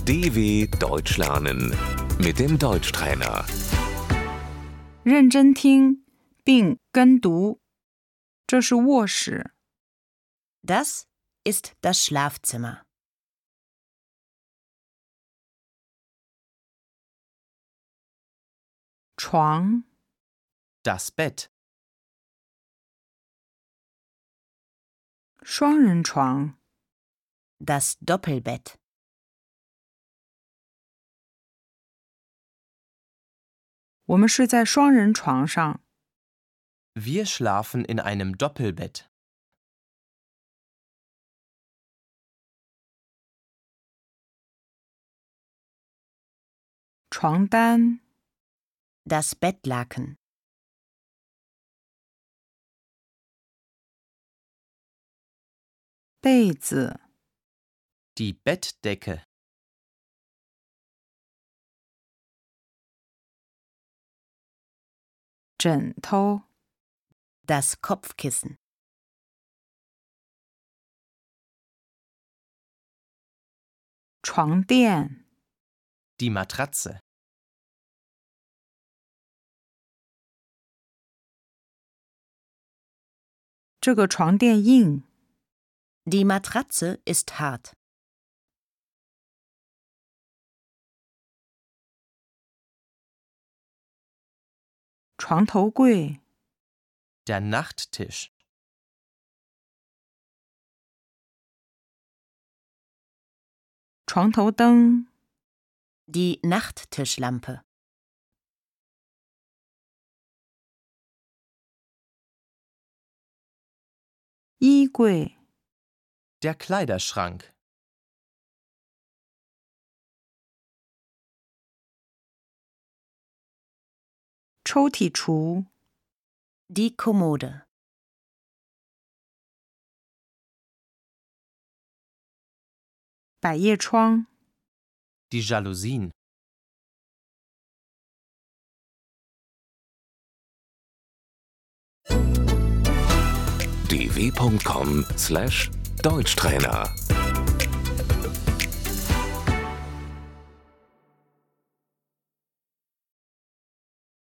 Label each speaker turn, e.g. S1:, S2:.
S1: DW Deutsch lernen mit dem Deutschtrainer.
S2: 认真听并跟读。这是卧室，
S3: Das ist das Schlafzimmer.
S2: 床、
S4: Das Bett.
S2: 双人床、
S3: Das Doppelbett.
S2: 我们睡在双人床上。
S4: Wir schlafen in einem Doppelbett.
S2: 床单、
S3: Das Bettlaken.
S2: 被子、
S4: Die Bettdecke.
S2: 枕头、
S3: Das Kopfkissen.
S2: 床垫、
S4: Die Matratze.
S2: 这个床垫硬。
S3: Die Matratze ist hart.
S2: 床头柜、
S4: Der Nachttisch.
S2: 床头灯、
S3: Die Nachttischlampe.
S2: 衣柜、
S4: Der Kleiderschrank.
S2: 抽屉橱、
S3: Die Kommode.
S2: 百叶窗、
S4: Die Jalousien.
S1: dw.com/Deutschtrainer